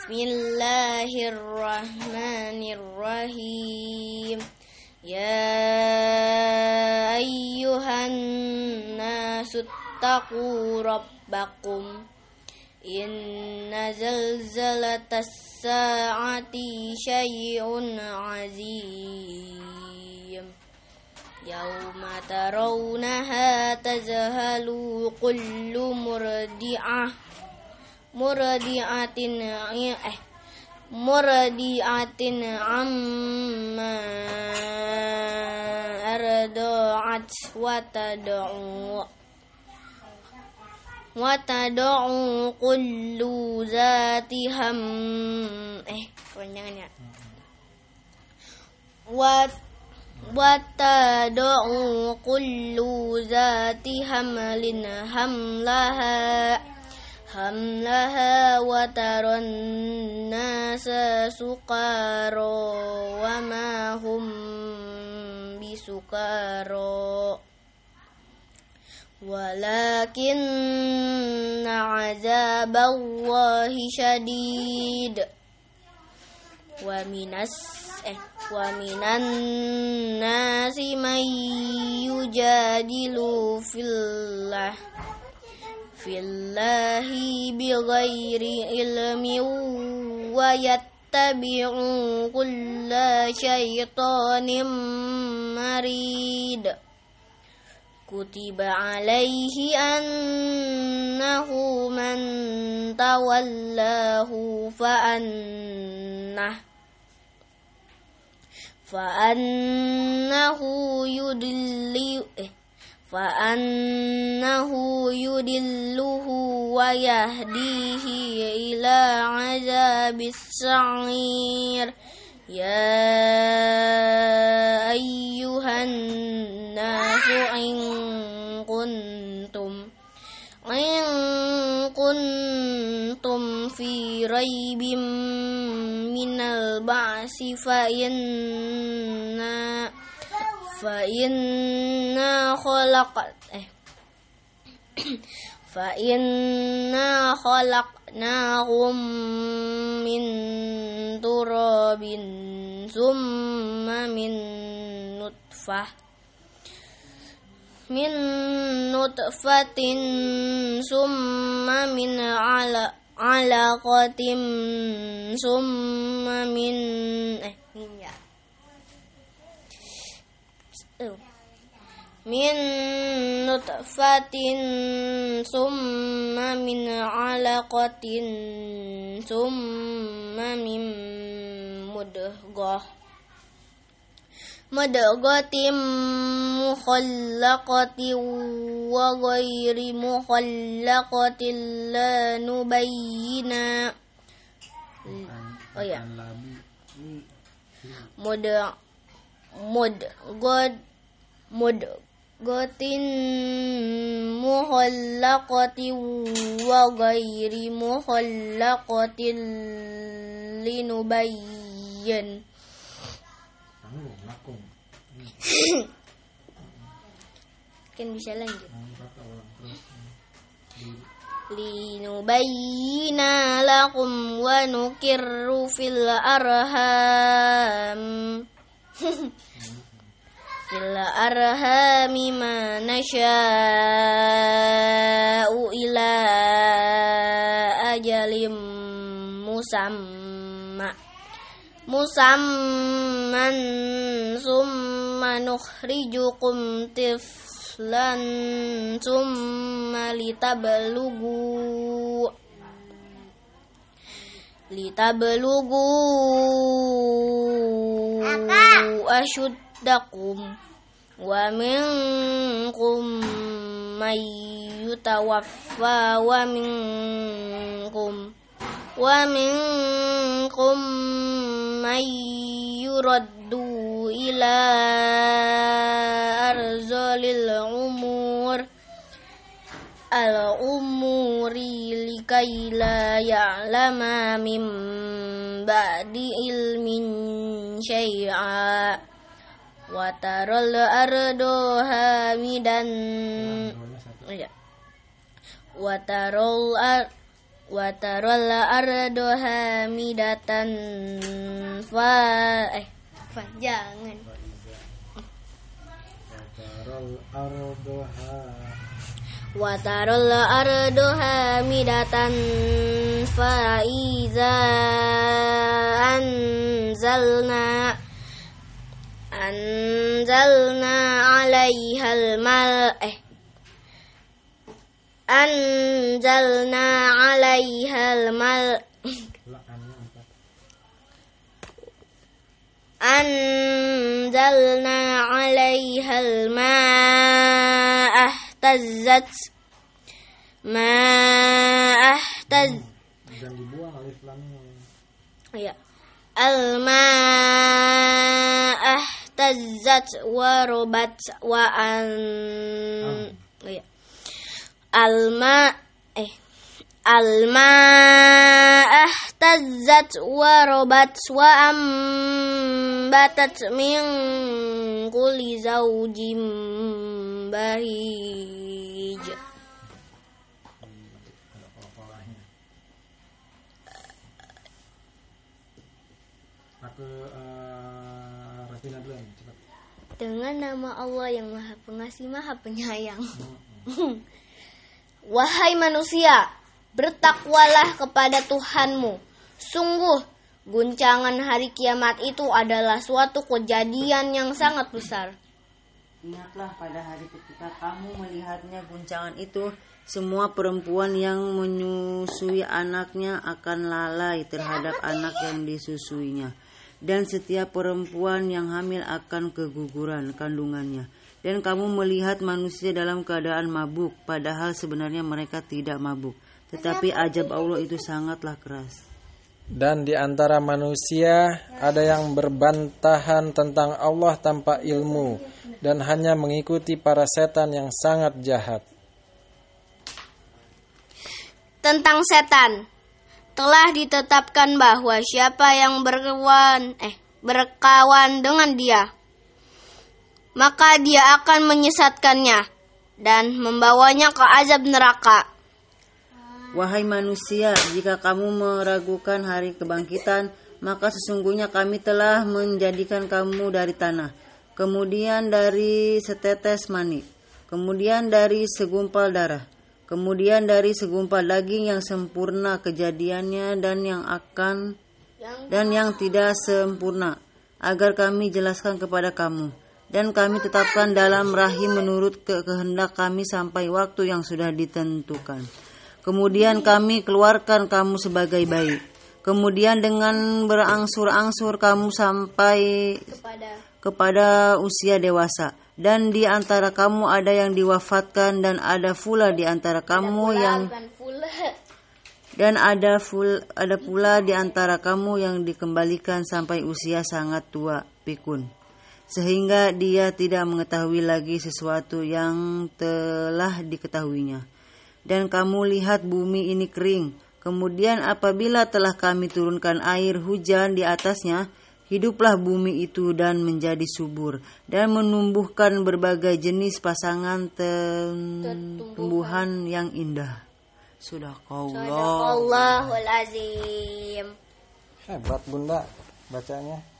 Bismillahirrahmanirrahim. Ya ayyuhan nasu taqu rabbakum. Inna zalzalatas sa'ati syai'un azim. Yauma tarawnaha tazhalu kullu murdi'atin amma arda'at wa tad'u kullu zati kepanjangannya wa tad'u kullu zati hamlin hamlaha wa taron nasa sukaro wa ma hum bisukaro walakinna azaballahi syadid wa minan nasi may yujadilu fillahi bighairi ilmin wa yattabi'u kulla syaitanin marid. Kutiba alaihi annahu man tawallahu fa'annahu yudilluhu wa yahdihi ila azabis sa'ir. Ya ayyuhan nasu in kuntum fi raibim minal ba'si fa inna khalaqnahum min turabin summa min nutfatin summa min alaqatin summa min min nutfatin summa min alaqatin summa min mudghatin mukhallaqatin wa ghairi mukhallaqatin la nubayyina mudghatin mukhallaqatin wa ghairi mukhallaqatin linubayyin kan bisa lanjut. Linubayyina lakum wa nukirru fil arhami ma nasha'u ila ajalim musamman summa nukhrijukum tiflan summa litablugu ashuddakum wa minkum may yutawaffa wa minkum may yuraddu ila arzalil umuri likai la ya'lama min ba'di ilmin syai'a wa taral ardo hamidan wa taral ardu hamidatan jangan wa taral ardu hamidatan fa iza anzalna 'alaihal ma'a ihtazzat dan dibuang alif lamnya. Ya. Al-ma'a ihtazzat wa rabat wa Al-ma'a ihtazzat wa rabat wa ambatat min kulli zawjin bahij. Rafina dulu nih, cepat. Dengan nama Allah yang Maha Pengasih, Maha Penyayang. Wahai manusia, bertakwalah kepada Tuhanmu. Sungguh, guncangan hari kiamat itu adalah suatu kejadian yang sangat besar. Ingatlah pada hari ketika kamu melihatnya guncangan itu, semua perempuan yang menyusui anaknya akan lalai terhadap anak yang disusuinya. Dan setiap perempuan yang hamil akan keguguran kandungannya. Dan kamu melihat manusia dalam keadaan mabuk, padahal sebenarnya mereka tidak mabuk. Tetapi ajab Allah itu sangatlah keras. Dan di antara manusia ada yang berbantahan tentang Allah tanpa ilmu dan hanya mengikuti para setan yang sangat jahat. Tentang setan, telah ditetapkan bahwa siapa yang berkawan dengan dia, maka dia akan menyesatkannya dan membawanya ke azab neraka. Wahai manusia, jika kamu meragukan hari kebangkitan, maka sesungguhnya kami telah menjadikan kamu dari tanah, kemudian dari setetes mani, kemudian dari segumpal darah, kemudian dari segumpal daging yang sempurna kejadiannya dan yang tidak sempurna, agar kami jelaskan kepada kamu. Dan kami tetapkan dalam rahim menurut kehendak kami sampai waktu yang sudah ditentukan. Kemudian kami keluarkan kamu sebagai bayi. Kemudian dengan berangsur-angsur kamu sampai kepada usia dewasa. Dan di antara kamu ada yang diwafatkan dan ada pula di antara kamu ada pula di antara kamu yang dikembalikan sampai usia sangat tua pikun. Sehingga dia tidak mengetahui lagi sesuatu yang telah diketahuinya. Dan kamu lihat bumi ini kering. Kemudian apabila telah kami turunkan air hujan di atasnya, hiduplah bumi itu dan menjadi subur. Dan menumbuhkan berbagai jenis pasangan tumbuhan yang indah. Sadaqallahul azim. Hebat Bunda bacanya.